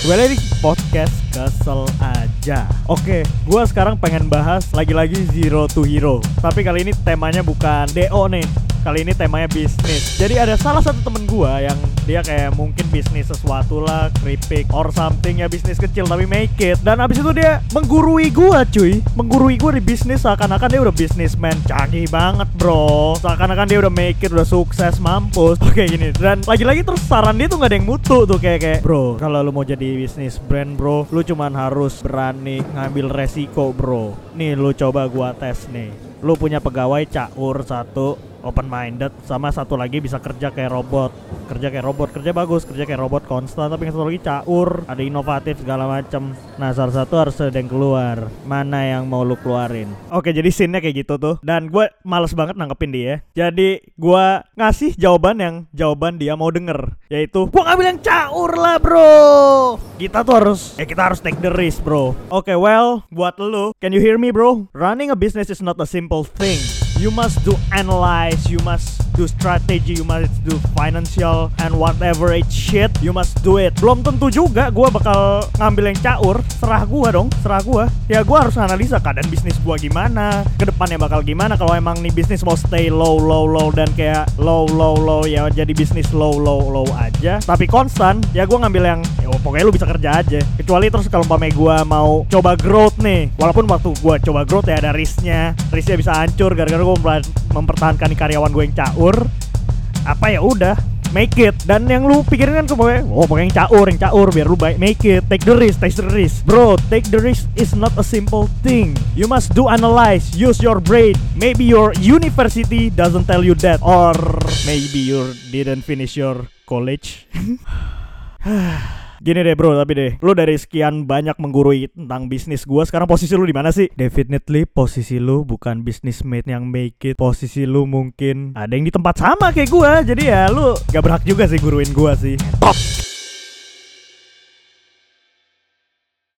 Kembali di podcast Kesel Aja. Oke, gue sekarang pengen bahas lagi-lagi Zero to Hero. Tapi kali ini temanya bukan DO nih. Kali ini temanya bisnis. Jadi ada salah satu temen gue yang dia kayak mungkin bisnis sesuatu lah, keripik or something ya, bisnis kecil tapi make it. Dan abis itu dia menggurui gue cuy. Menggurui gue di bisnis seakan-akan dia udah businessman. Canggih banget bro. Seakan-akan dia udah make it, udah sukses, mampus. Oke gini. Dan lagi-lagi terus saran dia tuh gak ada yang mutu tuh kayak bro, kalau lu mau jadi bisnis brand bro, lu cuman harus berani ngambil resiko bro. Nih lu coba gua tes nih. Lu punya pegawai caur satu, open minded, sama satu lagi bisa kerja kayak robot. Kerja bagus, kerja kayak robot konstan, tapi yang satu lagi caur, ada inovatif segala macem. Nah salah satu harus ada yang keluar. Mana yang mau lu keluarin? Oke, jadi scene-nya kayak gitu tuh. Dan gue males banget nanggepin dia. Jadi gue ngasih jawaban dia mau denger, yaitu gua ngambil yang caur lah bro. Kita harus take the risk bro. Oke, well, buat lu, can you hear me bro? Running a business is not a simple thing. You must do analyze, you must do strategy, you must do financial and whatever it shit, you must do it. Belum tentu juga gue bakal ngambil yang caur. Serah gue. Ya gue harus analisa keadaan bisnis gue gimana, kedepannya bakal gimana. Kalau emang nih bisnis mau stay low dan kayak low ya jadi bisnis low aja tapi konstan, ya gue ngambil yang ya pokoknya lu bisa kerja aja. Kecuali terus kalau umpamanya gue mau coba growth nih, walaupun waktu gue coba growth ya ada risknya bisa hancur gara-gara gue mempertahankan karyawan gue yang caur. Apa ya udah make it. Dan yang lu pikirin kan pokoknya yang caur biar lu baik, make it, take the risk bro. Take the risk is not a simple thing. You must do analyze, use your brain. Maybe your university doesn't tell you that, or maybe you didn't finish your college. Gini deh bro, tapi deh, lu dari sekian banyak menggurui tentang bisnis gua, sekarang posisi lu di mana sih? Definitely posisi lu bukan businessmate yang make it. Posisi lu mungkin ada yang di tempat sama kayak gua. Jadi ya lu gak berhak juga sih guruin gua sih. Top.